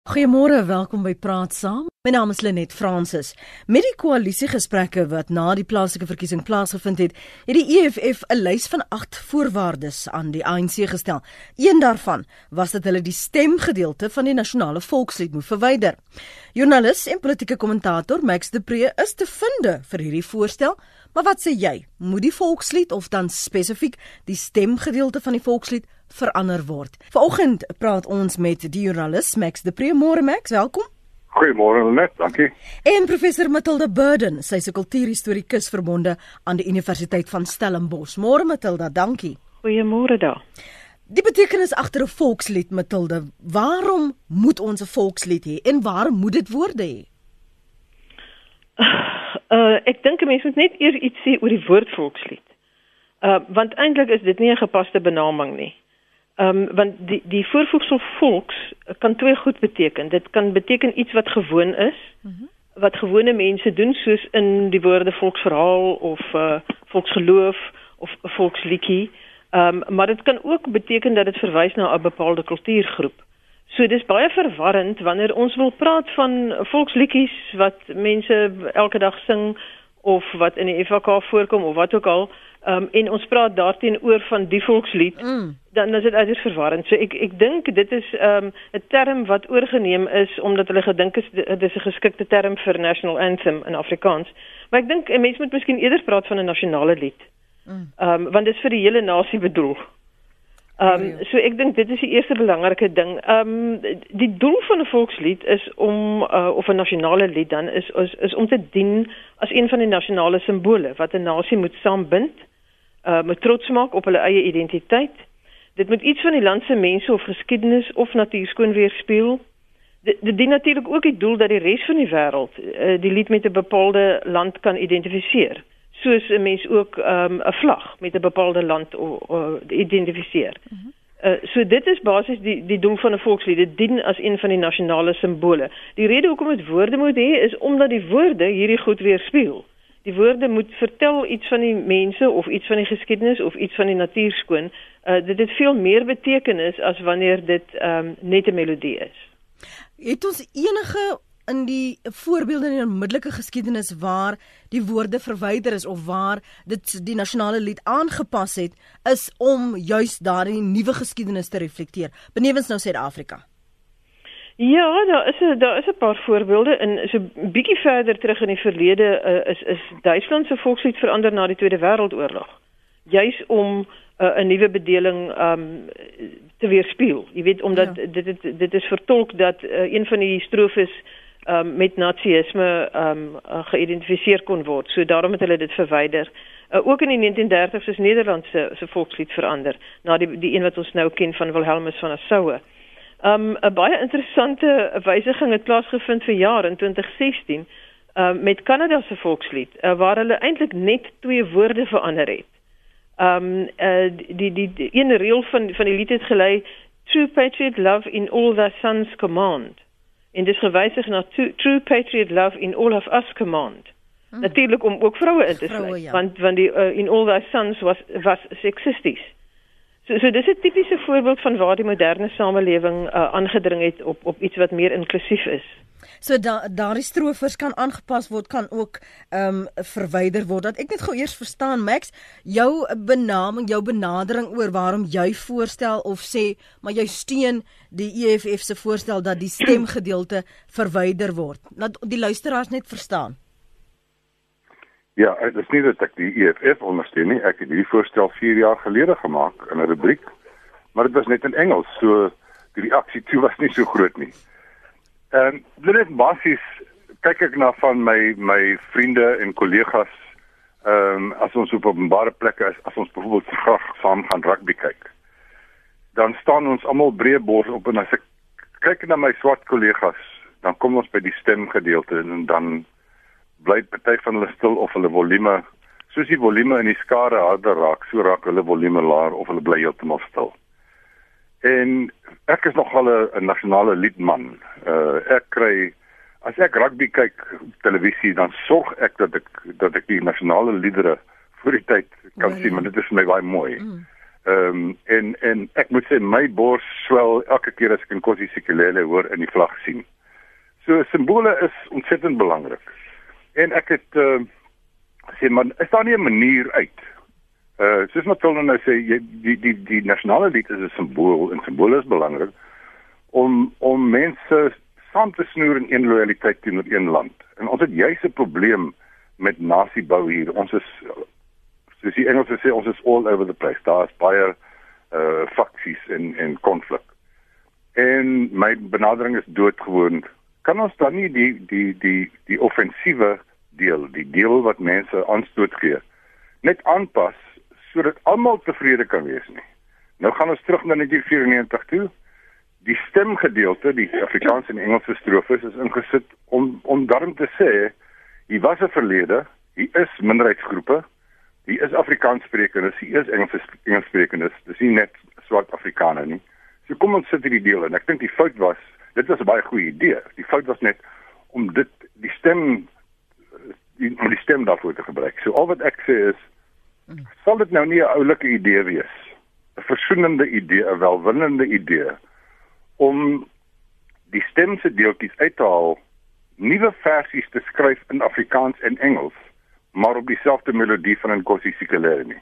Goeiemôre, welkom by Praat Saam. My naam is Lenet Fransis. Met die koalisiegesprekke wat na die plaaslike verkiesing plaasgevind het, het die EFF 'n lys van 8 voorwaardes aan die ANC gestel. Een daarvan was dat hulle die stemgedeelte van die nasionale volkslied moet verwyder. Joernalis en politieke kommentator Max de Pre is te vinde vir hierdie voorstel, maar wat sê jy? Moet die volkslied of dan spesifiek die stemgedeelte van die volkslied verander word? Vanoggend praat ons met die joernalis Max de Pre. Môre Max, welkom. Goeiemôre Lenet, dankie. En professor Matilda Burden, sy is 'n kultuurhistorikus verbonde aan die Universiteit van Stellenbosch. Môre Matilda, dankie. Goeiemôre daar. Die betekenis agter 'n volkslied, Matilda, waarom moet ons 'n volkslied hê en waarom moet dit woorde hê? Ek dink 'n mens moet net eers iets sê oor die woord volkslied. Want eintlik is dit nie 'n gepaste benaming nie. Want die voorvoegsel volks kan twee goed beteken. Dit kan beteken iets wat gewoon is, wat gewone mense doen, soos in die woorde volksverhaal of volksgeloof of volksliedjie. Maar dit kan ook beteken dat dit verwys na 'n bepaalde kultuurgroep. So dis baie verwarrend wanneer ons wil praat van volksliedjies wat mense elke dag sing of wat in die FHK voorkom of wat ook al, en ons praat daarteenoor van die volkslied, dan is dit uiters verwarrend. So ek dink dit is 'n term wat oorgeneem is omdat hulle gedink is dit is 'n geskikte term vir national anthem in Afrikaans. Maar ek dink 'n mens moet miskien eerder praat van 'n nasionale lied. Want dit is vir die hele nasie bedoel. So ek dink dit is die eerste belangrike ding. Die doel van 'n volkslied is om of 'n nasionale lied dan is om te dien as een van die nasionale simbole wat 'n nasie moet saambind, moet trots maak op hulle eie identiteit. Dit moet iets van die land se mense of geskiedenis of natuurskoon weerspieël. Dit dien natuurlik ook die doel dat die res van die wêreld die lied met 'n bepaalde land kan identifiseer. Soos 'n mens ook 'n vlag met 'n bepaalde land identifiseer. So dit is basies die doel van 'n volkslied. Dit dien as een van die nasionale simbole. Die rede hoekom dit woorde moet hê is omdat die woorde hierdie goed weerspieël. Die woorde moet vertel iets van die mense of iets van die geskiedenis of iets van die natuurskoon. Dit het veel meer betekenis as wanneer dit net 'n melodie is. Het ons enige in die voorbeelde in die onmiddellike geskiedenis waar die woorde verwyder is of waar dit die nasionale lied aangepas het, is om juis daardie nuwe geskiedenis te reflekteer, benewens nou Suid-Afrika? Ja, daar is 'n paar voorbeelde. En so 'n bietjie verder terug in die verlede is Duitsland se volkslied verander na die Tweede Wêreldoorlog. Juis om 'n nuwe bedeling te weerspieël. Jy weet, omdat dit is vertolk dat een van die strofes met nazisme geïdentifiseer kon word. So daarom het hulle dit verwyder. Ook in die 1930s is Nederland se volkslied verander, na die een wat ons nou ken van Wilhelmus van Nassau. 'n baie interessante wysiging het plaasgevind vir jaar in 2016 met Kanada se volkslied, waar hulle eintlik net 2 woorde verander het. Die ene reël van die lied het gelei, True Patriot Love in All Thy Sons Command. En dis gewysig na True Patriot Love in All of Us Command. Natuurlik om ook vroue in te sluit, ja. want die in All Thy Sons was seksisties. So dis 'n tipiese voorbeeld van waar die moderne samelewing aangedring het op iets wat meer inklusief is. So daardie strofers kan aangepas word, kan ook verwyder word. Dat ek net gou eers verstaan, Max, jou benaming, jou benadering oor waarom jy voorstel of sê, maar jy steun die EFF se voorstel dat die stemgedeelte verwyder word. Laat die luisteraars net verstaan. Ja, dit is nie dat ek die EFF ondersteun nie. Ek het hierdie voorstel 4 jaar gelede gemaak in 'n rubriek, maar dit was net in Engels, so die reaksie toe was nie so groot nie. Dit basies kyk ek na van my vriende en kollegas, as ons op openbare plekke is, as ons byvoorbeeld graag saam gaan rugby kyk, dan staan ons almal breë bors op, en as ek kyk na my swart kollegas, dan kom ons by die stemgedeelte en dan bly party van hulle stil of hulle volume, soos die volume in die skare harder raak, so raak hulle volume laer of hulle bly heeltemal stil. En ek is nogal 'n nasionale liedman. Ek kry, as ek rugby kyk op televisie, dan sorg ek dat ek die nasionale liedere voor die tyd kan sien, maar dit is vir my baie mooi. En ek moet sê my bors swel elke keer as ek in Nkosi Sikelel hoor in die vlag sien. So simbole is ontsettend belangrik. En ek het gesê man, is daar nie 'n manier uit? Soos Matilda nou sê, die nasionale lied is 'n simbool en simbole is belangrik om mense saam te snoer in een lojaliteit teenoor een land. En ons het juis 'n probleem met nasiebou hier. Ons is, soos die Engels sê, ons is all over the place. Daar is baie faksies en konflik. En my benadering is doodgewoon. Kan ons dan nie die offensiewe deel, die deel wat mense aanstoot gee, net aanpas sodat almal tevrede kan wees nie? Nou gaan ons terug na 1994 toe. Die stemgedeelte, die Afrikaanse en Engelse strofes is ingesit om daarom te sê, hier was 'n verlede, hier is minderheidsgroepe, hier is Afrikaanssprekendes, hier is Engelssprekendes, dis nie net swart Afrikaner nie. So kom ons sit hierdie deel in. Ek dink die fout was, dit was 'n baie goeie idee. Die fout was net om die stem daarvoor te gebruik. So al wat ek sê is, sal dit nou nie 'n oulike idee wees, 'n versoenende idee, 'n welwillende idee, om die stemse deeltjies uit te haal, nuwe versies te skryf in Afrikaans en Engels, maar op dieselfde melodie van Nkosi Sikelel nie.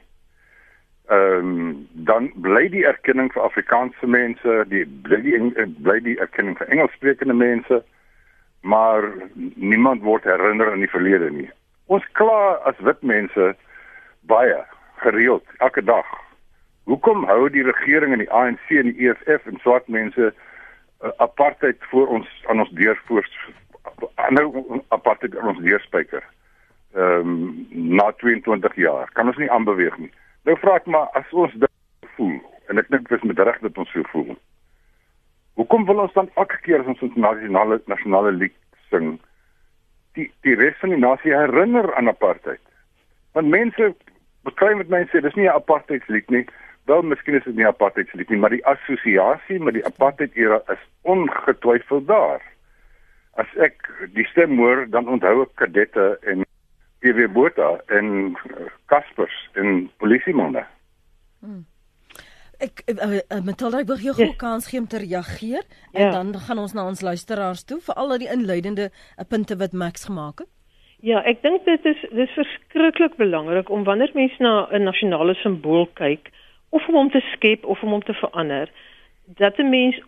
Dan bly die erkenning vir Afrikaanse mense, bly die erkenning vir Engelssprekende mense, maar niemand word herinner aan die verlede nie. Ons kla as wit mense baie gereeld, elke dag. Hoekom hou die regering en die ANC en die EFF en swart mense apartheid voor ons aan ons deur apartheid aan ons deurspyker na 22 jaar? Kan ons nie aanbeweeg nie. Nou vra ek maar, as ons dit voel, en ek dink dit is met reg dat ons so voel, hoekom wil ons dan elke keer as ons nasionale lied sing, die res van die nasie herinner aan apartheid? Want mense bekry met my en sê, dis nie 'n apartheidslied nie. Wel, miskien is dit nie 'n apartheidslied nie, maar die assosiasie met die apartheid-era is ongetwyfeld daar. As ek die stem hoor, dan onthou ek kadette en PW Botha en Kaspers en polisiemanne. Matilda, ek wil jou gou kans gee om te reageer, en dan gaan ons na ons luisteraars toe, vir al die inleidende punte wat Max gemaak het. Ja, ek dink dit is verskriklik belangrik om wanneer mense na 'n nasionale simbool kyk, of om hom te skep of om hom te verander, dat 'n mens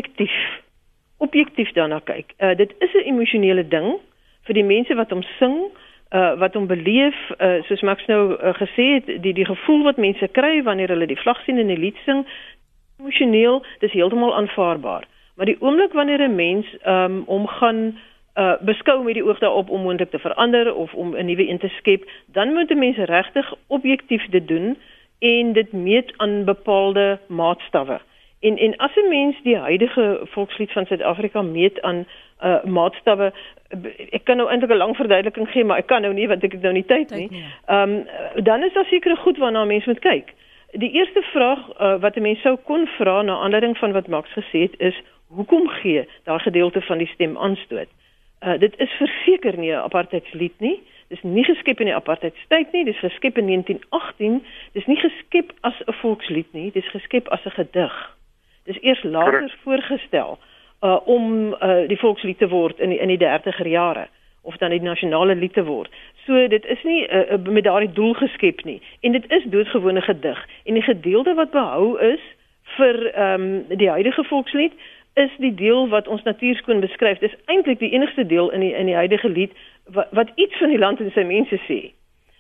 objektief daarna kyk. Dit is 'n emosionele ding vir die mense wat hom sing, wat hom beleef, soos Max nou gesê het, die gevoel wat mense kry wanneer hulle die vlag sien en die lied sing, emosioneel, dis heeltemal aanvaarbaar. Maar die oomblik wanneer 'n mens hom gaan beskou met die oog daarop om moontlik te verander of om 'n nuwe een te skep, dan moet 'n mens regtig objektief dit doen en dit meet aan bepaalde maatstawwe. En as 'n mens die huidige volkslied van Suid-Afrika meet aan maatstawwe, ek kan nou eintlik 'n lang verduideliking gee, maar ek kan nou nie, want ek het nou nie tyd nie. Dan is daar sekere goed waarna 'n mens moet kyk. Die eerste vraag wat 'n mens sou kon vra na aanleiding van wat Max gesê het, is hoekom gee daai gedeelte van die stem aanstoot? Dit is verseker nie 'n apartheidslied nie. Dis nie geskep in die apartheidstyd nie, dis geskep in 1918. Dis nie geskep as 'n volkslied nie, dis geskep as 'n gedig. Dis eers later voorgestel om die volkslied te word in die 30er jare, of dan die nasionale lied te word. So dit is nie met daardie doel geskep nie. En dit is doodgewone gedig. En die gedeelte wat behou is vir die huidige volkslied, is die deel wat ons natuurskoon beskryf. Dis eintlik die enigste deel in die huidige lied wat iets van die land en sy mense sê.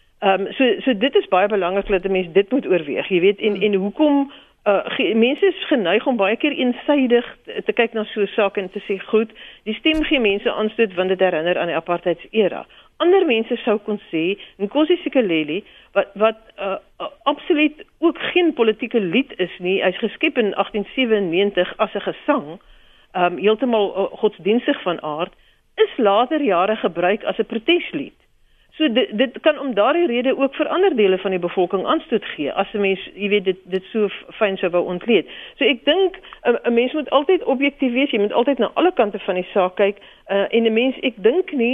So dit is baie belangrik dat 'n mens dit moet oorweeg. Jy weet, en hoekom mense is geneig om baie keer eensaidig te kyk na so 'n saak en te sê, goed, die stem gee mense aanstoot want dit herinner aan die apartheidsera. Ander mense sou kon sê, Nkosi Sikelel, wat absoluut ook geen politieke lied is nie, hy's geskep in 1897 as 'n gesang, heeltemal godsdienstig van aard, is later jare gebruik as 'n proteslied. So dit kan om daardie rede ook vir ander dele van die bevolking aanstoot gee, as 'n mens, jy weet, dit so fyn sou wou ontleed. So ek dink 'n mens moet altyd objektief wees, jy moet altyd na alle kante van die saak kyk, en 'n mens, ek dink nie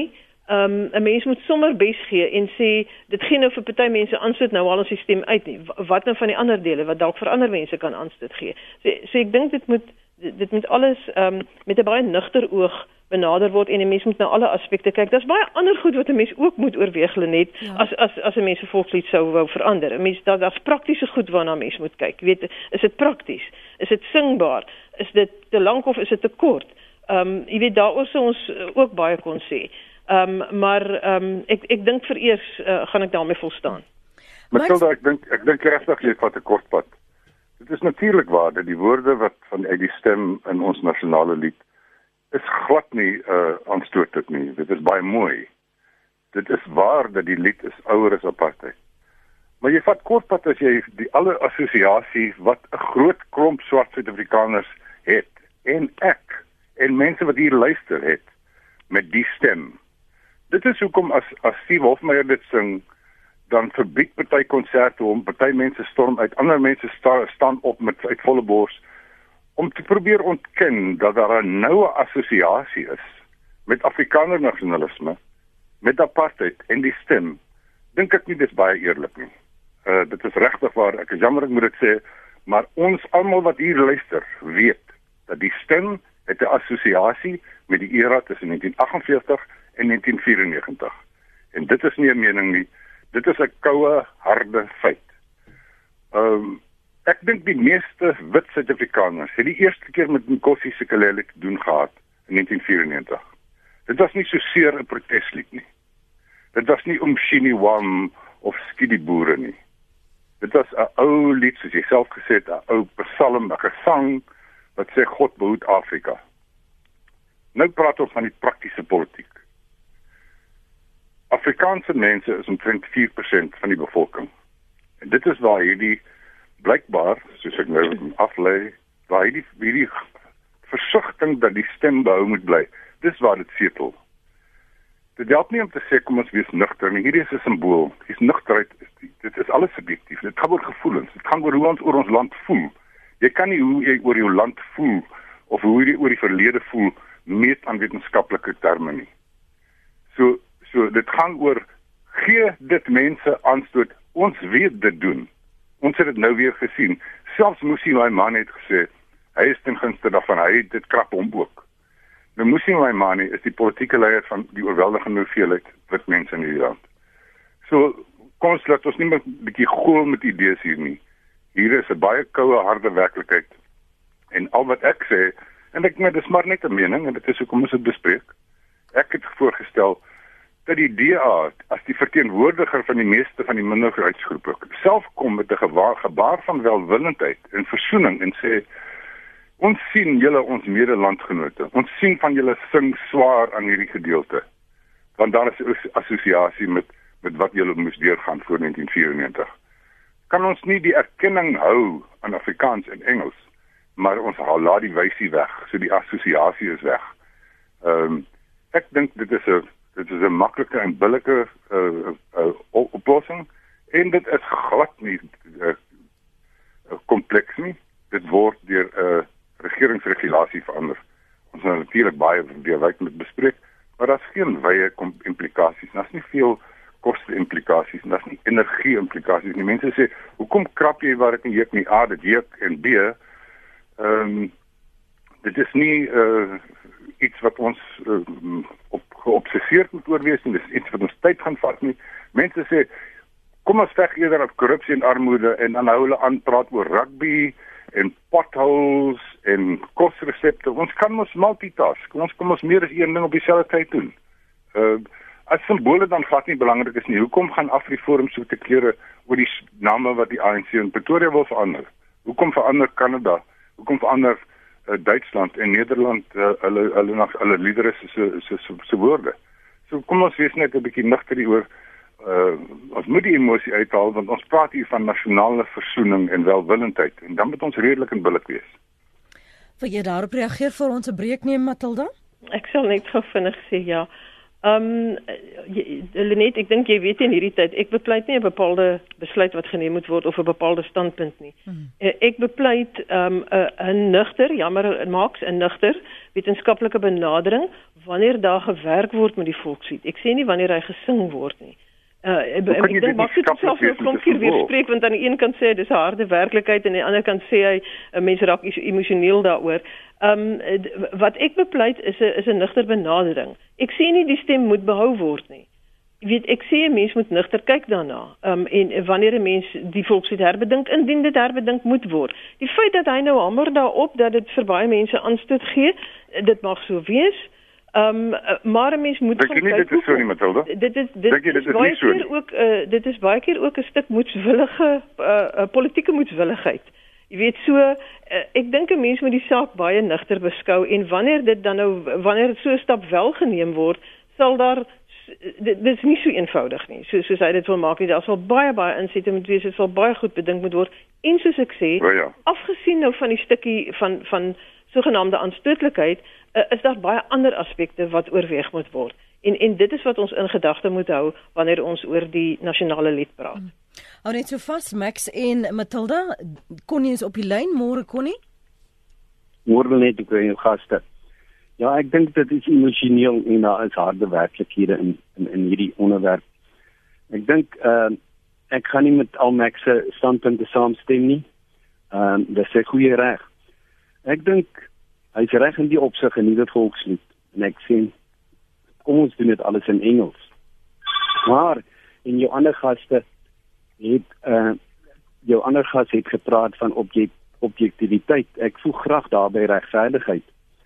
'n mens moet sommer bes gee en sê dit gee nou vir party mense aanstoot nou al ons sisteem uit nie. Wat nou van die ander dele wat dalk vir ander mense kan aanstoot gee. So ek dink dit moet alles met 'n baie nugter oog benader word en 'n mens moet na alle aspekte kyk. Daar's baie ander goed wat 'n mens ook moet oorweeg, Lenet, as 'n mens 'n volkslied sou wou verander. 'n Mens daar's praktiese goed waarna 'n mens moet kyk. Jy weet, is dit prakties? Is dit singbaar? Is dit te lank of is dit te kort? Jy weet daaroor sou ons ook baie kon sê. Maar ek dink vereers gaan ek daarmee volstaan. Matilda, ek dink regtig jy vat 'n kort pad. Dit is natuurlik waar dat die woorde wat uit die stem in ons nasionale lied is glad nie aanstootlik nie. Dit is baie mooi. Dit is waar dat die lied is ouer as apartheid. Maar jy vat kort pad as jy die alle assosiasie wat 'n groot klomp swart Suid-Afrikaners het en ek en mense wat hier luister het met die stem. Dit is hoekom as Steve Hofmeyer dit sing, dan verbied party konserte hom, party mense storm uit, ander mense staan op uit volle bors om te probeer ontken dat daar 'n noue assosiasie is met Afrikaner nasionalisme, met apartheid en die stem. Dink ek nie dis baie eerlik nie. Dit is regtig waar, ek is jammer ek moet dit sê, maar ons almal wat hier luister, weet dat die stem het 'n assosiasie met die era tussen 1948 en 1994. En dit is nie 'n mening nie, dit is 'n koue, harde feit. Ek dink die meeste wit Suid-Afrikaners het die eerste keer met Nkosi Sikelel te doen gehad in 1994. Dit was nie so seer 'n proteslied nie. Dit was nie Umshini Wam of Skidi Boere nie. Dit was 'n ou lied, soos jy self gesê het, 'n ou psalm, 'n gesang wat sê God behoed Afrika. Nou praat ons van die praktiese politiek. Afrikaanse mense is omtrent 4% van die bevolking. En dit is waar hierdie blykbaar, soos ek nou aflei, waar hierdie versigtiging dat die stem behou moet bly. Dis waar dit setel. Dit help nie om te sê kom ons wees nugter nie. Hierdie is 'n simbool. Dis nugterheid. Dit is alles subjektief. Dit gaan oor gevoelens. Dit gaan oor hoe ons oor ons land voel. Jy kan nie hoe jy oor jou land voel of hoe jy oor die verlede voel meet aan wetenskaplike terme nie. So dit gaan oor gee dit mense aanstoot. Ons weet dit doen. Ons het dit nou weer gesien. Selfs Musi Maimane het gesê hy is ten gunste daarvan. Hy het dit krap hom ook. Nou Musi Maimane is die politieke leier van die oorweldigende hoeveelheid wit mense in hierdie land. So kom ons laat ons nie meer 'n bietjie gool met idees hier nie. Hier is 'n baie koue, harde werklikheid. En al wat ek sê, en ek dis maar net 'n mening en dit is hoekom ons dit bespreek. Ek het voorgestel dat die DA as die verteenwoordiger van die meeste van die minderheidsgroepe self kom met 'n gebaar van welwillendheid en versoening en sê ons sien julle ons medelandgenote. Ons sien van julle sing swaar aan hierdie gedeelte. Want daar is 'n assosiasie met wat julle moes deurgaan voor 1994. Kan ons nie die erkenning hou aan Afrikaans en Engels, maar ons laat die wysie weg, so die assosiasie is weg. Ek dink dit is 'n maklike en billike oplossing en dit is glad nie kompleks nie. Dit word deur regeringsregulasie verander. Ons het natuurlik baie deurwyd met bespreek, maar daar's geen wye implikasies. Daar's nie veel koste implikasies en daar's nie energie implikasies nie. Mense sê, hoekom krap jy waar dit nie juk nie? A, dit juk en B, dit is nie iets wat ons geobsesseerd moet oorwees nie. Dit is iets wat ons tyd gaan vat nie. Mense sê, kom ons veg eerder op korrupsie en armoede en dan hou hulle aan praat oor rugby en potholes en kosresepte. Ons kan ons multitask. Ons kom ons meer as een ding op dieselfde tyd doen. As simbole dan glad nie belangrik is nie. Hoekom gaan AfriForum so te klere oor die name wat die ANC in Pretoria wil verander? Hoekom verander Kanada? Hoekom verander Duitsland en Nederland hulle liedere se woorde? So kom ons wees net 'n bietjie nugter hieroor. Ons moet die emosie uithaal want ons praat hier van nasionale versoening en welwillendheid en dan moet ons redelik en billik wees. Wil jy daarop reageer voor ons 'n breek neem, Matilda? Ek sal net gou vinnig sê ja. Lenet, ek dink jy weet in hierdie tyd, ek bepleit nie 'n bepaalde besluit wat geneem moet word of 'n bepaalde standpunt nie. Ek bepleit 'n nugter, Marx 'n nugter wetenskaplike benadering wanneer daar gewerk word met die volkslied. Ek sê nie wanneer hy gesing word nie. Ek dink Max het self nou klompier weerspreek, want aan die een kant sê hy dis 'n harde werklikheid en aan die ander kant sê hy mense raak emosioneel daaroor. Wat ek bepleit is 'n nugter benadering. Ek sê nie die stem moet behou word nie. Jy weet, ek sê 'n mens moet nugter kyk daarna. En wanneer 'n mens die volkslied herbedink, indien dit herbedink moet word. Die feit dat hy nou hamer daarop dat dit vir baie mense aanstoot gee, dit mag so wees. Maar 'n mens moet gaan kyk. Dit is so nie, Matilda. Dit is baie keer ook 'n stuk moedswillige politieke moedswilligheid. Jy weet so, ek dink 'n mens moet die saak baie nugter beskou en wanneer so 'n stap wel geneem word, sal daar dit is nie so eenvoudig nie. Soos hy dit wil maak nie, daar sal baie insette moet wees, dit sal baie goed bedink moet word. En soos ek sê, afgesien nou van die stukkie van sogenaamde aanstootlikheid, is daar baie ander aspekte wat oorweeg moet word. En dit is wat ons in gedagte moet hou wanneer ons oor die nasionale lied praat. Hou net so vas, Max en Matilda. Connie is op die lyn. Môre, Connie? Môre net, ek jou gaste. Ja, ek dink dit is emosioneel en daar is harde werklikhede in hierdie onderwerp. Ek dink, ek gaan nie met al Max se standpunte saamstem nie. Dis sy goeie reg. Ek dink, hy is reg in die opsig in die volkslied. En ek sê, kom ons doen dit alles in Engels. Maar, en jou ander gaste het gepraat van objektiviteit. Ek voeg graag daarby regverdigheid.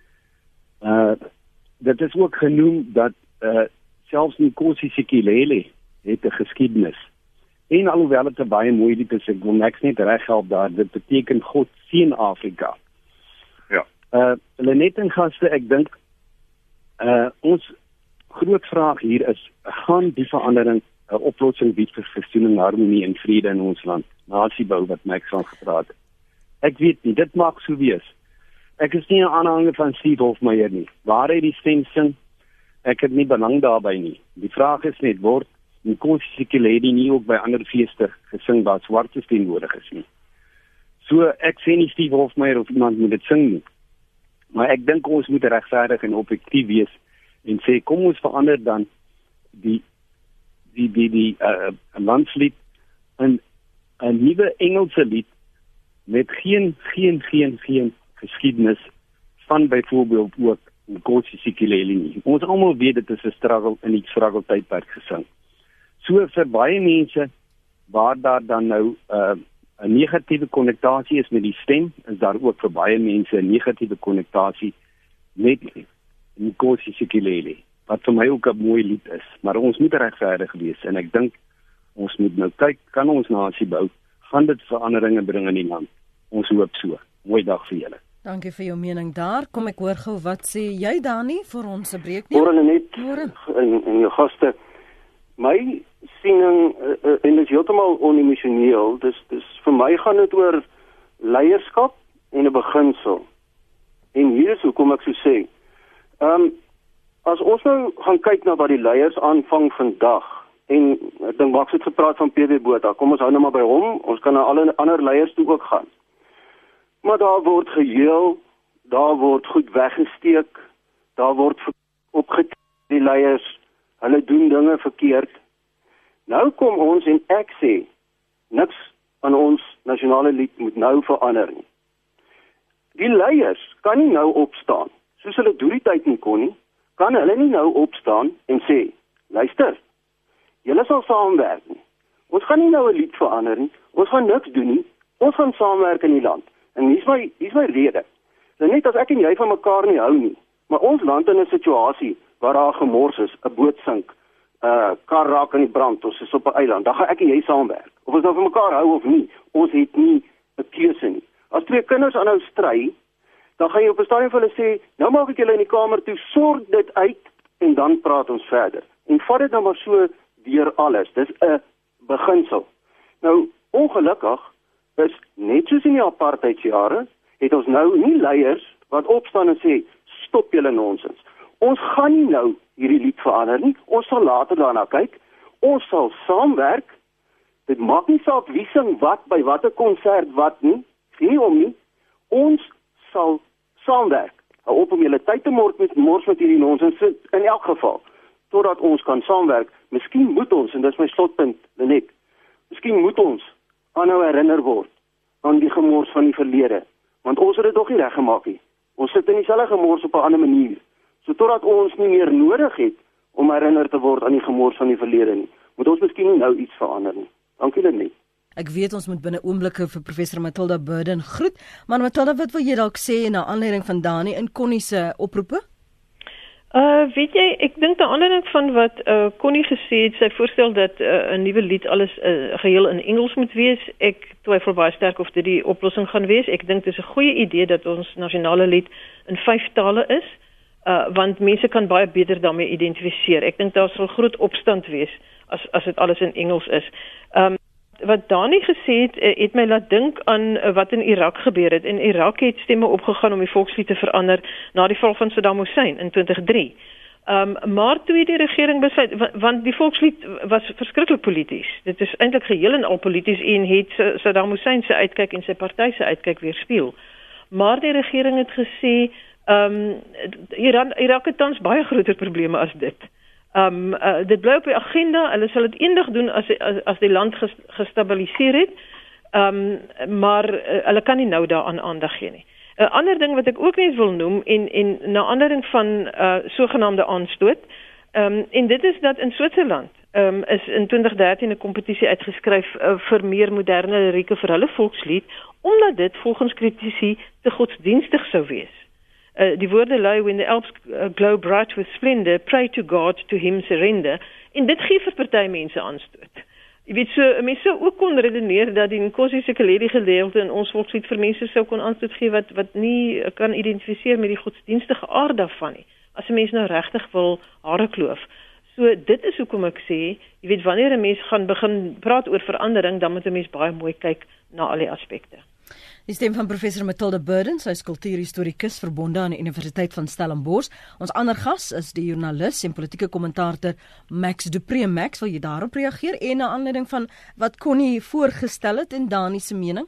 Dit is ook genoem dat selfs Nkosi Sikelel het 'n geskiedenis. En alhoewel dit 'n baie mooi lied is, ek wil niks net reghelp daar, dit beteken God seën Afrika. Ja. Lenet en gaste, ek dink ons groot vraag hier is, gaan die verandering 'n oplossing bied vir versoening, harmonie en vrede in ons land? Nasiebou wat Max van gepraat het. Ek weet nie, dit mag so wees. Ek is nie 'n aanhanger van Steve Hofmeyer nie. Waar hy die stem sing, ek het nie belang daarbey nie. Die vraag is net, word Nkosi Sikelel nie ook by ander feeste gesing waar swartes teenwoordig is nie? So, ek sê nie Steve Hofmeyer of iemand moet dit sing nie. Maar ek dink ons moet regverdig en objektief wees en sê, kom ons verander dan die landslied in 'n nuwe Engelse lied met geen geskiedenis van byvoorbeeld ook Nkosi Sikelel nie. Ons almal weet dit is 'n struggle in die struggle tydperk gesing. So vir baie mense waar daar dan nou 'n negatiewe konnektasie is met die stem, is daar ook vir baie mense 'n negatiewe konnektasie met Nkosi Sikelel, wat vir my ook 'n mooi lied is. Maar ons moet regverdig wees en ek dink ons moet nou kyk, kan ons nasie bou? Gaan dit veranderinge bring in die land? Ons hoop so. Mooi dag vir julle. Dankie vir jou mening daar. Kom ek hoor gou, wat sê jy Dani vir ons se breek nie? Môre net en jou gaste. My siening en dit is heeltemal onemosioneel. Dis vir my gaan dit oor leierskap en 'n beginsel. En hier is hoekom ek so sê. As ons nou gaan kyk na wat die leiers aanvang vandag, en ek dink Max het gepraat van PW Botha, kom ons hou nou maar by hom, ons kan na alle ander leiers toe ook gaan. Maar daar word geheel, daar word goed weggesteek, daar word opgetree die leiers, hulle doen dinge verkeerd. Nou kom ons en ek sê, niks aan ons nasionale lied moet nou verander nie. Die leiers kan nie nou opstaan, soos hulle deur die tyd nie kon nie, kan hulle nie nou opstaan en sê, luister, julle sal saamwerk nie. Ons gaan nie nou 'n lied verander nie, ons gaan niks doen nie, ons gaan saamwerk in die land. En hier's my rede. Net as ek en jy van mekaar nie hou nie, maar ons land in 'n situasie waar daar gemors is, 'n boot sink, kar raak aan die brand, ons is op 'n eiland, dan gaan ek en jy saamwerk. Of ons nou van mekaar hou of nie, ons het nie 'n keuse nie. As twee kinders aanhou stry, dan gaan jy op 'n stadium vir hulle sê, nou maak ek julle in die kamer toe, sorg dit uit en dan praat ons verder. En vat dit nou maar so deur alles. Dis 'n beginsel. Nou, ongelukkig is net soos in die apartheidsjare, het ons nou nie leiers wat opstaan en sê, stop julle nonsens. Ons gaan nie nou hierdie lied verander nie. Ons sal later daarna kyk. Ons sal saamwerk. Dit maak nie saak wie sing wat by watter konsert wat nie. Geen om nie. Ons sal saamwerk. Hou op om julle tyd te mors met hierdie nonsens in elk geval. Totdat ons kan saamwerk. Miskien moet ons, en dis my slotpunt, Lenet, miskien moet ons aanhou herinner word aan die gemors van die verlede. Want ons het dit nog nie reggemaak nie. Ons sit in dieselfde gemors op 'n ander manier. So totdat ons nie meer nodig het om herinner te word aan die gemors van die verlede nie, moet ons miskien nou iets verander nie. Dankie Lenet. Ek weet ons moet binne oomblikke vir professor Matilda Burden groet, maar Matilda, wat wil jy dalk sê na aanleiding van Dani en Connie se oproepe? Weet jy, ek dink na aanleiding van wat Connie gesê het, sy voorstel dat 'n nuwe lied alles geheel in Engels moet wees. Ek twyfel baie sterk of dit die oplossing gaan wees. Ek dink dit is 'n goeie idee dat ons nasionale lied in 5 tale is, want mense kan baie beter daarmee identifiseer. Ek dink daar sal groot opstand wees as dit alles in Engels is. Wat Dani gesê het my laat dink aan wat in Irak gebeur het. In Irak het stemme opgegaan om die volkslied te verander na die val van Saddam Hussein in 2003. Maar toe die regering besluit, want die volkslied was verskriklik polities. Dit is eintlik geheel en al polities en het Saddam Hussein se uitkyk en sy party se uitkyk weerspieël. Maar die regering het gesê Irak het tans baie groter probleme as dit. Dit bly op die agenda. Hulle sal dit eendag doen as die land gestabiliseer het, maar hulle kan nie nou daaraan aandag gee nie. 'n Ander ding wat ek ook net wil noem en na aanleiding van sogenaamde aanstoot, en dit is dat in Switserland is in 2013 'n kompetisie uitgeskryf vir meer moderne lirieke vir hulle volkslied, omdat dit volgens kritici te godsdienstig sou wees. Die woorde lui, when the Alps glow bright with splendor, pray to God, to him surrender. En dit gee vir party mense aanstoot. Jy weet, so mense sou ook kon redeneer dat die Nkosi Sikeledi gedeelte in ons volkslied vir mense sou kon aanstoot gee wat nie kan identifiseer met die godsdienstige aard daarvan nie. As 'n mens nou regtig wil hare kloof. So dit is hoekom ek sê, jy weet, wanneer 'n mens gaan begin praat oor verandering, dan moet 'n mens baie mooi kyk na al die aspekte. Die stem van professor Matilda Burden, sy is kultuurhistorikus verbonde aan die Universiteit van Stellenbosch. Ons ander gas is die joernalis en politieke kommentator Max du Preez. Max, wil jy daarop reageer en na aanleiding van wat Connie voorgestel het en Dani se mening?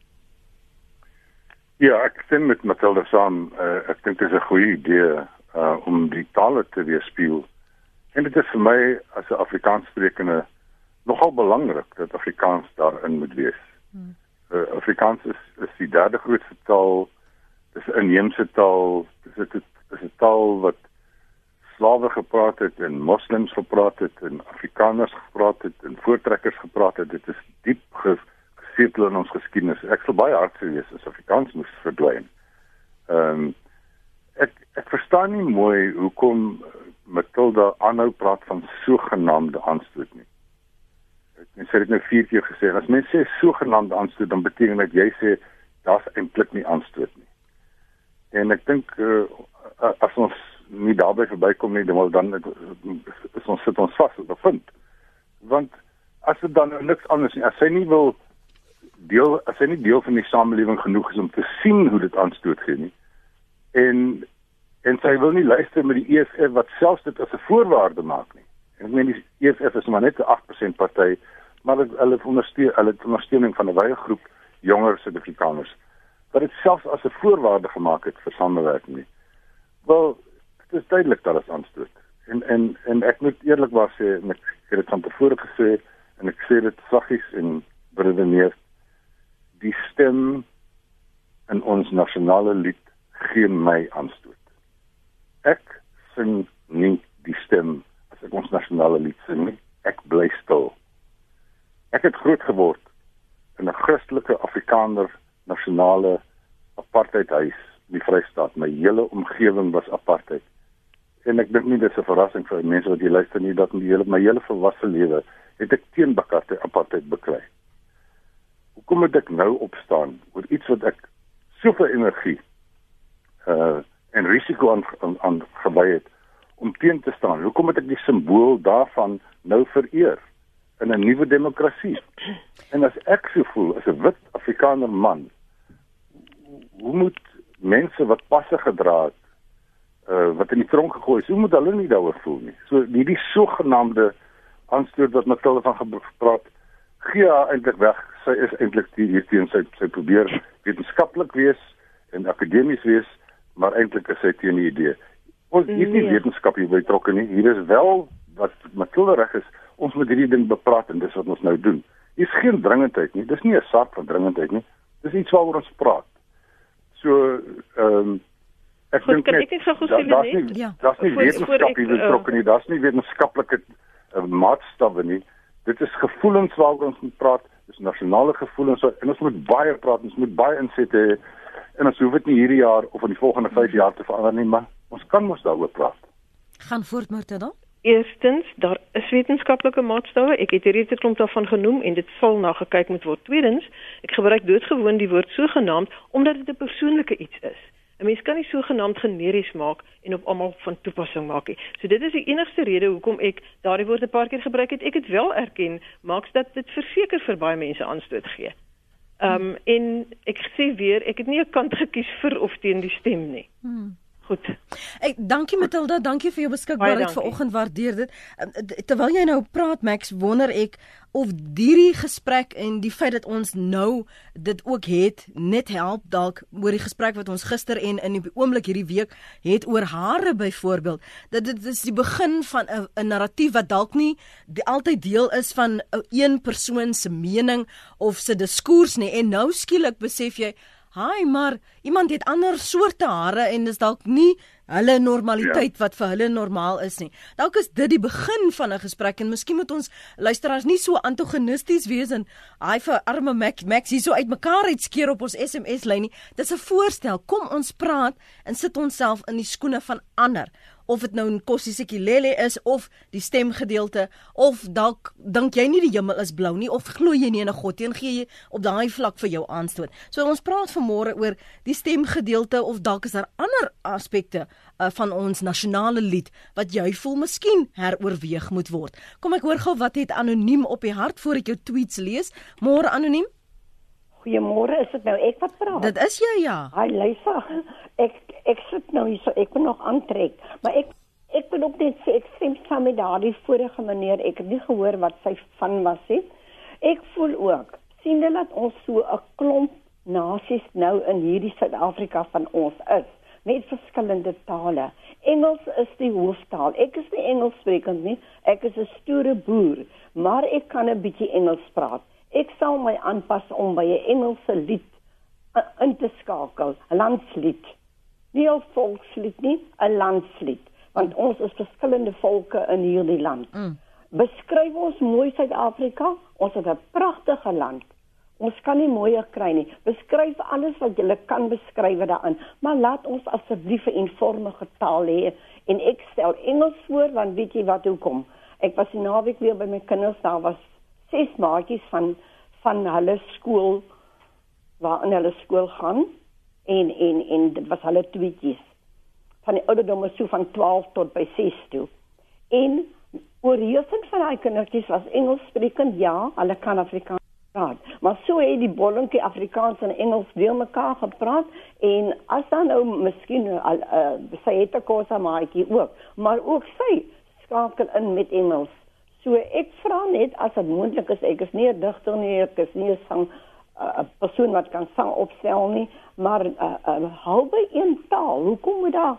Ja, ek stem met Matilda saam. Ek dink dit is 'n goeie idee om die tale te weerspieël. En dit is vir my as 'n Afrikaanssprekende nogal belangrik dat Afrikaans daarin moet wees. Afrikaans is die derde grootste taal, dis 'n inheemse taal, dis 'n taal wat slawe gepraat het en moslems gepraat het en Afrikaners gepraat het en voortrekkers gepraat het. Dit is diep gesetel in ons geskiedenis. Ek sal baie hartseer wees as Afrikaans moes verdwyn. Ek verstaan nie mooi hoekom Matilda aanhou praat van sogenaamde aanstoot nie. Ek sê dit nou 4 keer gesê, as mense sê sogenaamde aanstoot, dan beteken dat jy sê, daar's eintlik nie aanstoot nie. En ek dink, as ons nie daarby verbykom nie, dan sit ons vas op 'n punt. Want, as dit dan niks anders nie, as sy nie deel van die samelewing genoeg is om te sien hoe dit aanstoot gee nie, en sy wil nie luister met die EFF wat selfs dit as 'n voorwaarde maak nie. En ek meen, die EFF is maar net 'n 8% party, maar hulle ondersteuning van 'n wye groep jonger Suid-Afrikaners, wat dit selfs as 'n voorwaarde gemaak het vir samewerking nie. Wel, dit is duidelik dat dit aanstoot. En ek moet eerlikwaar sê, en ek het dit van tevore gesê, en ek sê dit saggies en beredeneer, die stem in ons nasionale lied gee my aanstoot. Ek sing nie die stem as ek ons nasionale lied sing nie. Ek bly stil. Ek het groot geword in 'n Christelike Afrikaner nasionale apartheidhuis in die Vrystaat. My hele omgewing was apartheid. En ek dink nie dit is 'n verrassing vir mense wat hier luister nie, dat my hele volwasse lewe het ek teen apartheid beklei. Hoekom moet ek nou opstaan oor iets wat ek soveel energie en risiko aan gewy het om teen te staan? Hoekom moet ek die simbool daarvan nou vereer in 'n nuwe demokrasie? En as ek so voel, as 'n wit Afrikaner man, hoe moet mense wat passe gedra het wat in die tronk gegooi is, hoe moet hulle nie daaroor voel nie? So die sogenaamde aanstoot wat Matilda van gepraat, gee haar eintlik weg. Sy is eintlik hierteen, sy probeer wetenskaplik wees en akademies wees, maar eintlik is sy teen die idee. Ons hier is nie wetenskap hier betrokke nie. Hier is wel wat Matilda reg is, ons moet hierdie ding bepraat en dis wat ons nou doen. Hier is geen dringendheid nie. Dis nie 'n saak van dringendheid nie. Dis iets waaroor ons praat. So ek dink net daar's nie wetenskap hier betrokke nie. Daar's nie wetenskaplike maatstawwe nie. Dit is gevoelens waaroor ons moet praat. Dis nasionale gevoelens en ons moet baie praat, ons moet baie insette hê. En ons hoef dit nie hierdie jaar of in die volgende 5 jaar te verander nie, maar ons kan mos daaroor praat. Gaan voort, Matilda. Eerstens, daar is wetenskaplike maatstawwe. Ek het reeds 'n klomp daarvan genoem en dit sal na gekyk moet word. Tweedens, ek gebruik doodgewoon die woord sogenaamd omdat dit 'n persoonlike iets is. 'n Mens kan nie sogenaamd generies maak en op almal van toepassing maak nie. So dit is die enigste rede hoekom ek daardie woord 'n paar keer gebruik het. Ek het wel erken, maaks dat dit verseker vir baie mense aanstoot gee. En ek sê weer, ek het nie 'n kant gekies vir of teen die stem nie. Goed. Dankie Matilda, dankie vir jou beskikbaarheid vanoggend, waardeer dit. Terwyl jy nou praat Max, wonder ek of hierdie gesprek en die feit dat ons nou dit ook het, net help dalk oor die gesprek wat ons gister en in die oomblik hierdie week het oor hare byvoorbeeld, dat dit is die begin van 'n narratief wat dalk nie altyd deel is van een persoon se mening of se diskurs nie, en nou skielik besef jy, maar iemand het ander soorte hare en dis dalk nie hulle normaliteit wat vir hulle normaal is nie. Dalk is dit die begin van 'n gesprek en miskien moet ons luisteraars nie so antagonisties wees en vir arme Max hier so uitmekaar uitskeer op ons SMS-lyn nie. Dis 'n voorstel. Kom ons praat en sit onsself in die skoene van ander. Of dit nou 'n Nkosi Sikelel is of die stemgedeelte, of dalk dink jy nie die hemel is blou nie, of glo jy nie in 'n God nie en gee jy op daai vlak vir jou aanstoot. So ons praat vanmôre oor die stemgedeelte, of dalk is daar ander aspekte van ons nasionale lied wat jy voel miskien heroorweeg moet word. Kom ek hoor gou wat het anoniem op die hart voor ek jou tweets lees. Môre anoniem. Goeiemôre, is dit nou ek wat praat? Dit is jy, ja. Hi Lisa, ek sit nou hier so, ek wil nog aantrek, maar ek wil ook net sê, ek stem saam met daardie vorige meneer, ek het nie gehoor wat sy van was het. Ek voel ook, sien jy dat ons so 'n klomp nasies nou in hierdie Suid-Afrika van ons is, met verskillende tale. Engels is die hooftaal. Ek is nie Engels sprekend nie, ek is 'n stoere boer, maar ek kan 'n bietjie Engels praat. Ek sal my aanpas om by 'n Engelse lied in te skakel, 'n landslied. Nie 'n volkslied nie, 'n landslied, want ons is verskillende volke in hierdie land. Beskryf ons mooi Suid-Afrika, ons het 'n pragtige land. Ons kan nie mooier kry nie. Beskryf alles wat jy kan beskryf daarin, maar laat ons asseblief 'n eenvormige taal hê. En ek stel Engels voor, want weet jy wat hoekom? Ek was die naweek weer by my kinders, daar was 6 maatjies van hulle skool, waarin hulle skool gaan, en dit was hulle tweetjies. Van die ouderdom so van 12 tot by 6 toe. En oorheersend van die kindertjies was Engels sprekend, ja, hulle kan Afrikaans praat. Maar so het die bollentjie Afrikaans en Engels deur mekaar gepraat, en as dan nou miskien sy het 'n kosa maatjie ook, maar ook sy skakel in met Engels. So ek vra net, as dit moontlik is, ek is nie 'n digter nie, ek is nie 'n persoon wat kan sang opstel nie, maar hou by een taal. Hoekom moet daar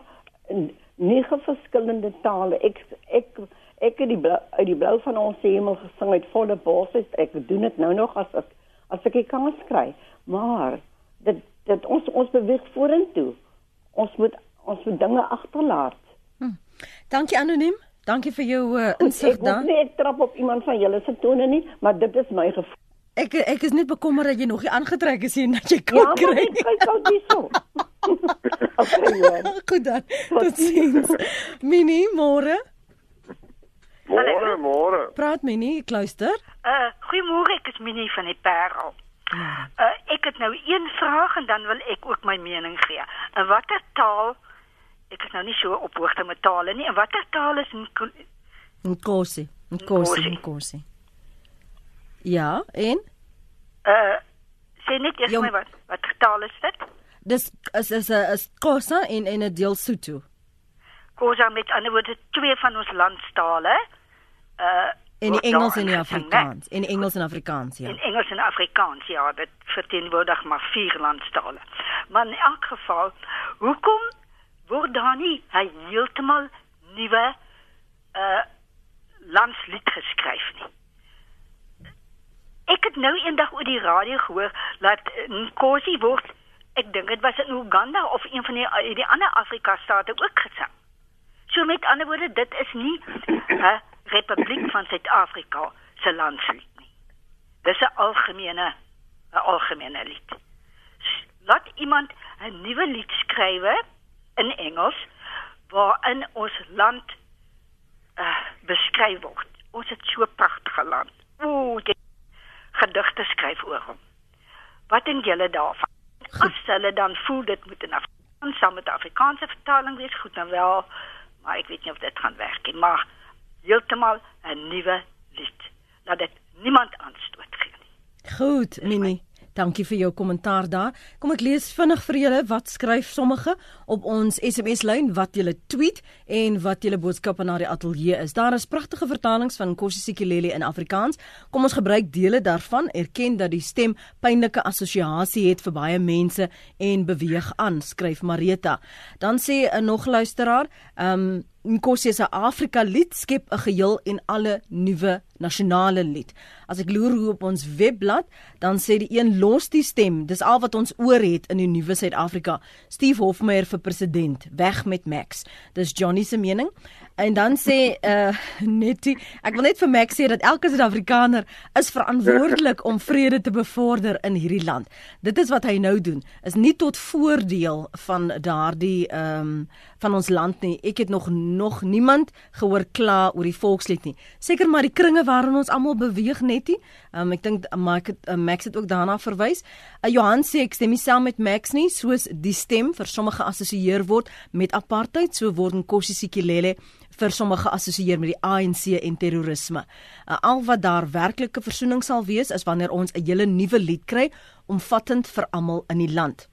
9 verskillende tale? Ek het uit die blou van ons hemel gesing uit volle borste. Ek doen dit nou nog as ek die kans kry. Maar dit ons beweeg vorentoe. Ons moet dinge agterlaat. Dankie anoniem. Dankie vir jou insig dan. Ek trap op iemand van julle se tone nie, maar dit is my gevoel. Ek is net bekommerd dat jy nog nie aangetrek is en dat jy kan kry. Ja, maar ek kyk al die so. Okay, goed dan. Tot ziens. Minnie, môre. Môre. Praat Minnie, ek luister. Goeiemôre, ek is Minnie van die Parel. Ek het nou een vraag en dan wil ek ook my mening gee. In watter taal, ek is nou nie so op hoogte met tale nie, in watter taal is Nkosi. Ja, en? Sê net eers my wat taal is dit? Dis is Xhosa en 'n deel Sotho. Khoza met ander woorde 2 van ons landstale. En die Engels en die Afrikaans. En die Engels en Afrikaans, ja. In Engels en Afrikaans, ja, dit verteenwoordig maar 4 landstale. Maar in elk geval, hoekom word daar nie 'n heeltemal nuwe landslied geskryf nie? Ek het nou eendag oor die radio gehoor dat Nkosi word, ek dink dit was in Uganda of een van die ander Afrika-state ook gesing. So met ander woorde, dit is nie 'n Republiek van Suid-Afrika se landslied nie. Dis 'n algemene lied. Laat iemand 'n nuwe lied skrywe in Engels waarin ons land beskryf word. Ons het so 'n pragtige land. Jy gedigte skryf oor hom. Wat dink julle daarvan? As hulle dan voel dit moet in Afrikaans saam met 'n Afrikaanse vertaling wees, goed nou wel, maar ek weet nie of dit gaan werk nie, maar heeltemal 'n nuwe lied. Laat dit niemand aanstoot gee nie. Goed, Minnie. Dankie vir jou kommentaar daar. Kom ek lees vinnig vir julle wat skryf sommige op ons SMS-lyn, wat julle tweet en wat julle boodskappe na die ateljee is. Daar is pragtige vertalings van Nkosi Sikeleli in Afrikaans. Kom ons gebruik dele daarvan, erken dat die stem pynlike assosiasie het vir baie mense en beweeg aan, skryf Marita. Dan sê 'n nog luisteraar, Nkosi se Afrika lied skep 'n geheel en alle nuwe nasionale lied. As ek loer hoe op ons webblad, dan sê die een los die stem, dis al wat ons oor het in die nuwe Suid-Afrika. Steve Hofmeyr vir president, weg met Max. Dis Johnny se mening. En dan sê Nettie, ek wil net vir Max sê dat elke Suid-Afrikaner is verantwoordelik om vrede te bevorder in hierdie land. Dit is wat hy nou doen, is nie tot voordeel van daardie van ons land nie. Ek het nog niemand gehoor kla oor die volkslied nie. Seker maar die kringe waarin ons almal beweeg, Nettie. Ek dink Max het ook daarna verwys. Johan sê ek stem nie saam met Max nie, soos die stem vir sommige geassosieer word met apartheid, so word Nkosi Sikeleli vir sommige geassosieer met die ANC en terrorisme. Al wat daar werklike versoening sal wees, is wanneer ons 'n hele nuwe lied kry, omvattend vir almal in die land.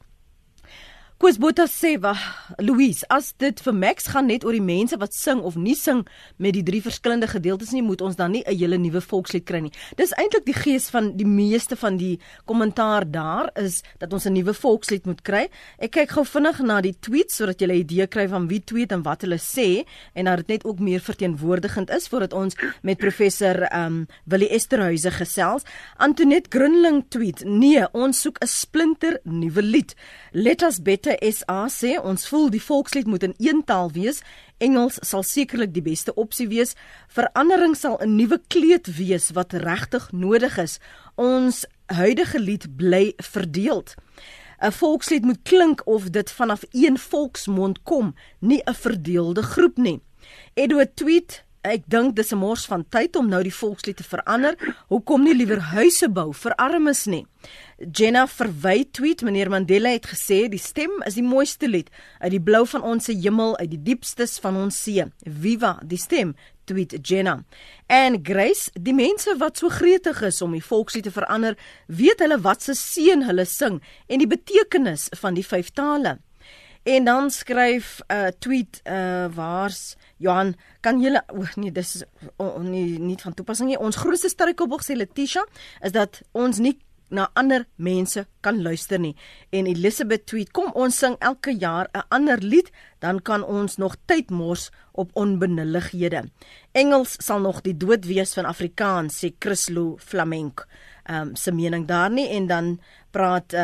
Koos Botha sê, Louise, as dit vir Max gaan net oor die mense wat sing of nie sing met die 3 verskillende gedeeltes nie, moet ons dan nie 'n hele nuwe volkslied kry nie. Dis eintlik die gees van die meeste van die kommentaar daar, is dat ons 'n nuwe volkslied moet kry. Ek kyk gou vinnig na die tweets, sodat jy 'n idee kry van wie tweet en wat hulle sê, en dat dit net ook meer verteenwoordigend is, voordat ons met professor Willie Esterhuise gesels. Antoinette Grunling tweet, nee, ons soek 'n splinter nuwe lied. Let us better SA sê, ons voel die volkslied moet in een taal wees. Engels sal sekerlik die beste opsie wees. Verandering sal 'n nuwe kleed wees wat regtig nodig is. Ons huidige lied bly verdeeld. 'n Volkslied moet klink of dit vanaf een volksmond kom, nie 'n verdeelde groep nie. Edward tweet, ek dink dis 'n mors van tyd om nou die volkslied te verander. Hoekom nie liewer huise bou vir armes nie? Jenna Verwy tweet, meneer Mandela het gesê, die stem is die mooiste lied, uit die blou van ons hemel, uit die diepstes van ons see. Viva die stem, tweet Jenna. En Grace, die mense wat so gretig is om die volkslied te verander, weet hulle wat se seën hulle sing en die betekenis van die 5 tale. En dan skryf tweet, waars Johan, kan julle, nee, dis is nie van toepassing nie. Ons grootste struikelblok, sê Letitia, is dat ons nie na ander mense kan luister nie. En Elizabeth tweet, kom ons sing elke jaar 'n ander lied, dan kan ons nog tyd mors op onbenullighede. Engels sal nog die dood wees van Afrikaans, sê Chrislo Flamenco. Se mening daar nie. En dan praat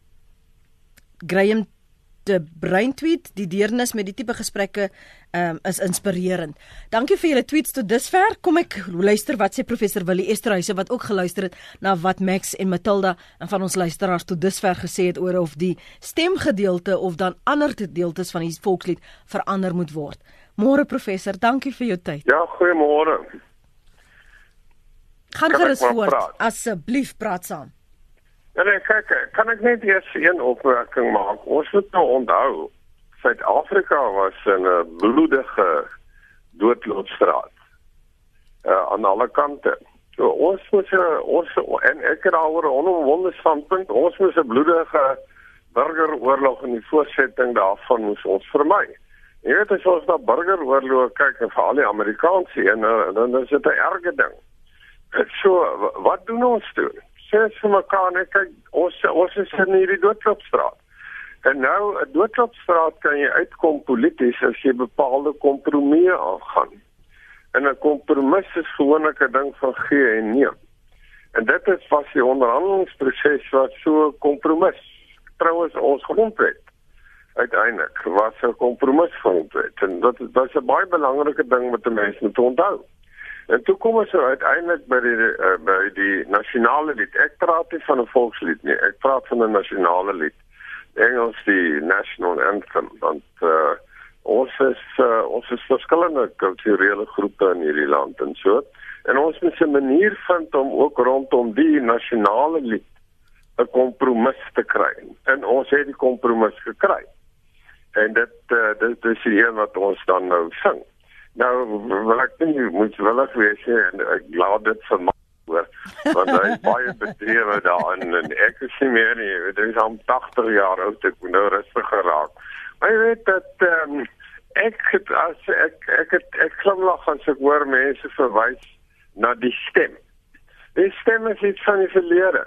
Graham de Bruin tweet, die deernis met die tipe gesprekke is inspirerend. Dankie vir julle tweets tot dusver. Kom ek luister wat sê professor Willie Esterhuise, wat ook geluister het na wat Max en Matilda en van ons luisteraars tot dusver gesê het oor of die stemgedeelte of dan ander gedeeltes van die volkslied verander moet word. Môre professor, dankie vir jou tyd. Ja, goeiemôre. Gaan gerus voort, asseblief praat saam. Ja, kyk, kan ek net eers een opmerking maak? Ons moet nou onthou, Suid-Afrika was in 'n bloedige doodloopstraat aan alle kante. So ons en ek het daaroor 'n onomwonde standpunt, ons moet 'n bloedige burgeroorlog en die voortsetting daarvan moes ons vermy. Jy weet, as ons na burgeroorlog kyk en vir al die Amerikaanse en dan is dit 'n erge ding. So, wat doen ons toe? Sê ons vir mekaar, nee, kyk, ons is in hierdie doodloopstraat. En nou, 'n doodloopstraat kan jy uitkom polities as jy bepaalde kompromieë aangaan. En 'n kompromis is gewoonlik 'n ding van gee en neem. En dit was die onderhandelingsproses wat so 'n kompromis. Trouwens, ons grondwet uiteindelik was 'n kompromis grondwet. En dat is 'n baie belangrike ding wat die mense moet onthou. En toe kom ons uiteindelik by die nasionale lied. Ek praat nie van 'n volkslied nie, ek praat van 'n nasionale lied. Engels die national anthem, want ons is verskillende kulturele groepe in hierdie land en so. En ons moet 'n manier vind om ook rondom die nasionale lied 'n kompromis te kry. En ons het die kompromis gekry. En dit is die een wat ons dan nou sing. Nou, wil ek nie moetswillig wees en ek laat dit vir my hoor, want hy is baie bedrewe daarin en ek is nie meer nie, dit is al 80 jaar oud, ek moet nou rustig geraak. Maar jy weet dat ek glimlag as ek hoor mense verwys na die stem. Die stem is iets van die verlede.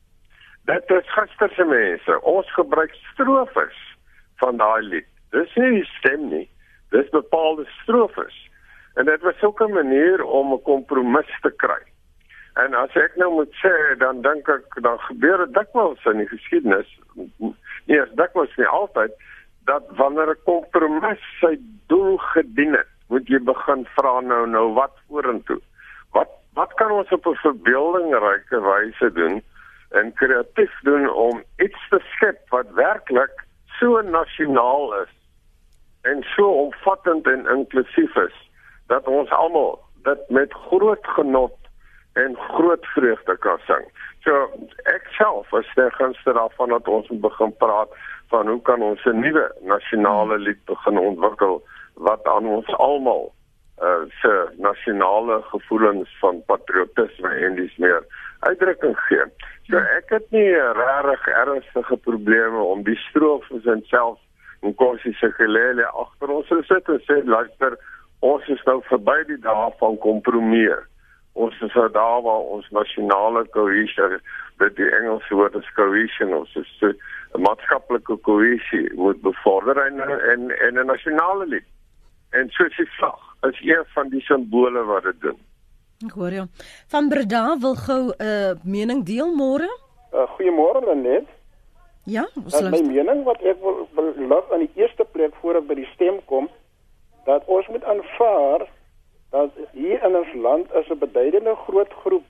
Dit is gisterse mense. Ons gebruik strofes van daai lied. Dis nie die stem nie. Dis bepaalde strofes. En dit was ook 'n manier om 'n kompromis te kry. En as ek nou moet sê, dan dink ek, dan gebeur dit dikwels in die geskiedenis, nie as dikwels nie altyd, dat wanneer 'n kompromis sy doel gedien het, moet jy begin vra nou wat vorentoe. Wat kan ons op 'n verbeeldingryke wyse doen en kreatief doen om iets te skep wat werklik so nasionaal is en so omvattend en inklusief is, dat ons almal dit met groot genot en groot vreugde kan sing. So, ek self is ter gunste daarvan dat ons moet begin praat van hoe kan ons 'n nuwe nasionale lied begin ontwikkel, wat aan ons almal se nasionale gevoelens van patriotisme en dis meer uitdrukking gee. So, ek het nie regtig ernstige probleme om die strofes en selfs Nkosi Sikelel agter ons te sit en sê, luister, ons is nou verby die dae van kompromie. Ons is nou daar waar ons nasionale cohesie, dit die Engelse woord is cohesion, ons is 'n maatskaplike cohesie moet bevorder en 'n nasionale lied. En soos die vlag is een van die simbole wat dit doen. Ek hoor jou. Van Breda wil gou 'n mening deel môre? Goeiemôre Lenet. Ja, my mening wat ek wil lig aan die eerste plek voor ek by die stem kom, dat ons moet aanvaar dat hier in ons land is 'n beduidende groot groep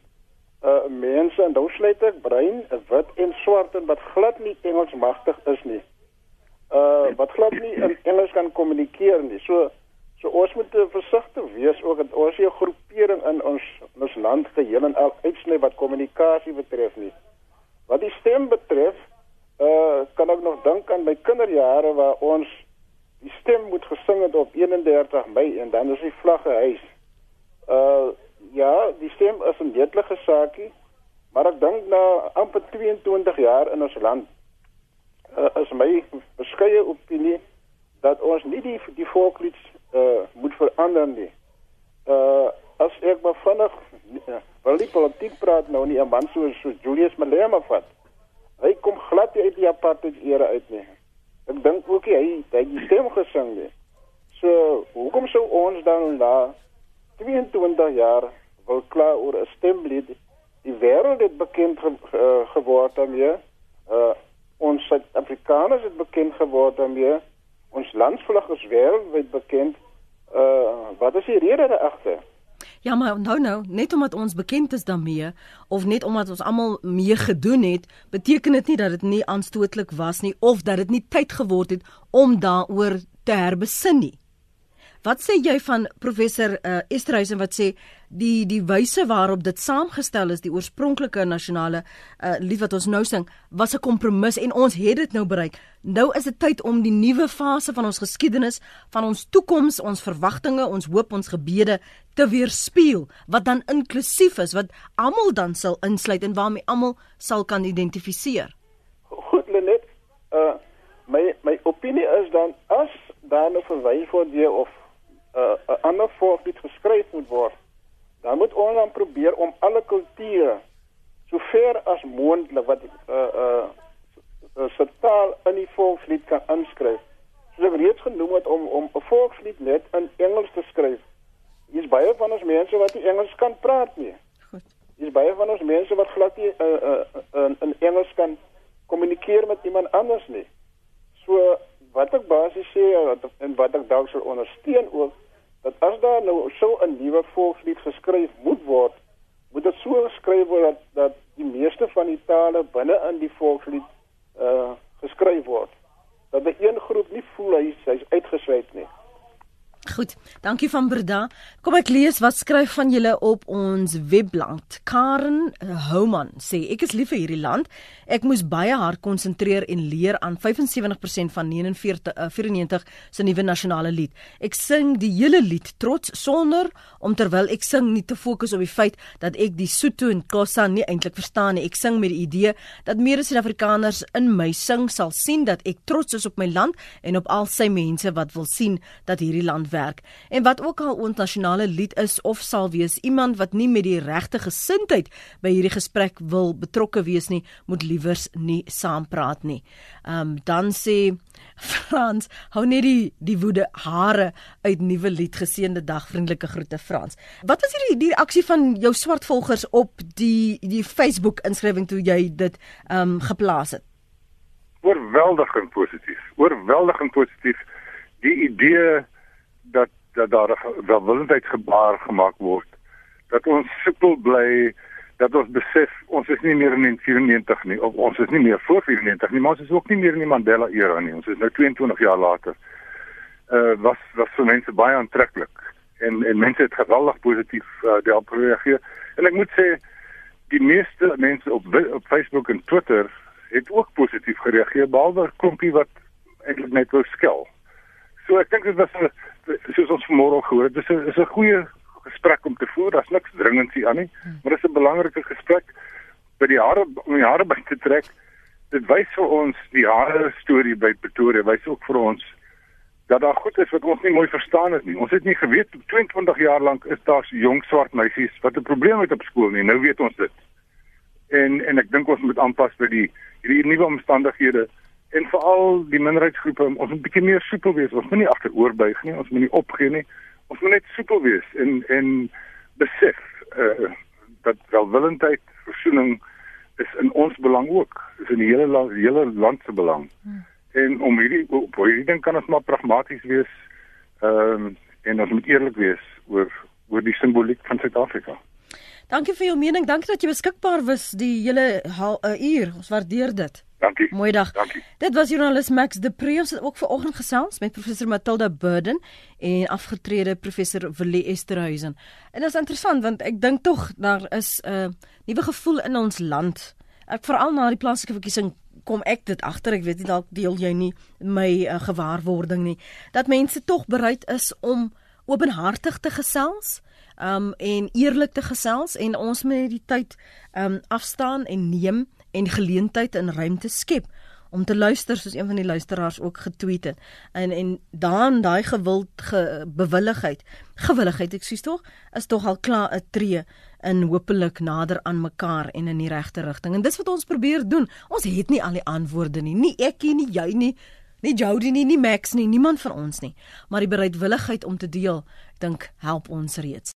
mense, en nou sluit ek bruin, wit en swart, en wat glad nie Engels magtig is nie. Wat glad nie in Engels kan kommunikeer nie. So ons moet versigtig wees ook dat ons nie 'n groepering in ons land geheel en al uitsny wat kommunikasie betref nie. Wat die stem betref, kan ek nog dink aan my kinderjare waar ons die stem moet gesing het op 31 Mei en dan is die vlag gehuis. Ja, die stem is 'n netelige saakie, maar ek dink na amper 22 jaar in ons land is my beskeie opinie dat ons nie die volkslied moet verander nie. As ek maar vinnig wil die politiek praat nou nie, 'n man so Julius Malema vat. Hy kom glad uit die apartheid era uit nie. Ek dink ook hy het die stem gesing nie. So, hoekom sou ons dan na 22 jaar wil klaar oor 'n stemlied? Die wêreld het bekend geword daarmee. Ons Suid-Afrikaners het bekend geword daarmee. Ons landsvlag is wêreldwyd bekend. Wat is die rede daagter? Ja, maar nou, net omdat ons bekend is daarmee, of net omdat ons almal mee gedoen het, beteken dit nie dat dit nie aanstootlik was nie, of dat dit nie tyd geword het om daaroor te herbesin nie. Wat sê jy van professor Esterhuizen wat sê, die wyse waarop dit saamgestel is, die oorspronklike nasionale lied wat ons nou sing, was 'n kompromis en ons het dit nou bereik. Nou is dit tyd om die nuwe fase van ons geskiedenis, van ons toekoms, ons verwagtinge, ons hoop, ons gebede te weerspieël, wat dan inklusief is, wat almal dan sal insluit en waarmee almal sal kan identifiseer. Goed, Lenet, my opinie is dan, as daar nou verwys word deur of 'n ander volkslied geskryf moet word, dan moet ons dan probeer om alle kulture so ver as moontlik wat se taal in die volkslied kan inskryf. Soos ek reeds genoem het, om 'n volkslied net in Engels te skryf. Hier is baie van ons mense wat nie Engels kan praat nie. Hier is baie van ons mense wat glad nie in Engels kan kommunikeer met iemand anders nie. So wat ek basies sê en wat ek dalk sal ondersteun ook, dat as daar nou so 'n nuwe volkslied geskryf moet word, moet dit so geskryf word dat die meeste van die tale binne in die volkslied geskryf word. Dat die een groep nie voel hy's uitgesluit nie. Goed, dankie van Berda. Kom ek lees wat skryf van julle op ons webblad. Karen Houman sê, ek is lief vir hierdie land. Ek moes baie hard konsentreer en leer aan 75% van 94 se nuwe nasionale lied. Ek sing die hele lied trots sonder om terwyl ek sing nie te fokus op die feit dat ek die Sotho en Xhosa nie eintlik verstaan nie. Ek sing met die idee dat meer Suid-Afrikaners in my sing sal sien dat ek trots is op my land en op al sy mense wat wil sien dat hierdie land werk. En wat ook al ons nasionale lied is of sal wees, iemand wat nie met die regte gesindheid by hierdie gesprek wil betrokke wees nie, moet liewers nie saampraat nie. Dan sê Frans, hou net die woede hare uit nuwe lied, geseënde dag, vriendelike groete Frans. Wat was die reaksie van jou swart volgers op die Facebook inskrywing toe jy dit geplaas het? Oorweldigend positief. Die idee dat daar 'n welwillendheidsgebaar gemaak word, dat ons simpel bly, dat ons besef, ons is nie meer in 1994 nie, of ons is nie meer voor 94 nie, maar ons is ook nie meer in die Mandela-era nie, ons is nou 22 jaar later, was vir mense baie aantreklik, en mense het geweldig positief daarop gereageer, en ek moet sê, die meeste mense op Facebook en Twitter het ook positief gereageer, behalwe 'n klompie wat eintlik net wou skel. So ek dink dit was, soos ons vanmôre gehoor het, dit is 'n goeie gesprek om te voer, daar's niks dringendsie aan nie, maar dit is 'n belangrike gesprek om die hare by te trek. Dit wys vir ons, die hare storie by Pretoria, wys ook vir ons, dat daar goed is wat ons nie mooi verstaan het nie. Ons het nie geweet, 22 jaar lank is daar jong swart meisies wat 'n probleem het op skool nie, nou weet ons dit. En ek dink ons moet aanpas by hierdie nuwe omstandighede, en veral die minderheidsgroepe, ons moet 'n bietjie meer soepel wees, ons moet nie agteroorbuig nie, ons moet nie opgee nie, ons moet net soepel wees, en besef, dat welwillendheid, versoening, is in ons belang ook, is in die hele land se belang. En op hierdie ding kan ons maar pragmaties wees, en ons moet eerlik wees oor die simboliek van Suid-Afrika. Dankie vir jou mening, dankie dat jy beskikbaar was die hele uur, ons waardeer dit. Dankie. Mooi dag. Dankie. Dit was joernalis Max de Pre, ons het ook vanoggend gesels met professor Matilda Burden en afgetrede professor Willie Esterhuizen. En dit is interessant, want ek dink tog, daar is 'n nuwe gevoel in ons land. Ek veral na die plaaslike verkiesing kom ek dit agter, ek weet nie, dalk deel jy nie my gewaarwording nie, dat mense tog bereid is om openhartig te gesels, en eerlik te gesels, en ons moet die tyd afstaan en neem, en geleentheid en ruimte skep om te luister, soos een van die luisteraars ook getweet het. En dan daai gewilligheid, ek sies tog, is tog al klaar 'n tree in hopelik nader aan mekaar en in die regte rigting. En dis wat ons probeer doen. Ons het nie al die antwoorde nie ek nie, jy nie Jody nie Max nie, niemand van ons nie. Maar die bereidwilligheid om te deel, ek dink help ons reeds.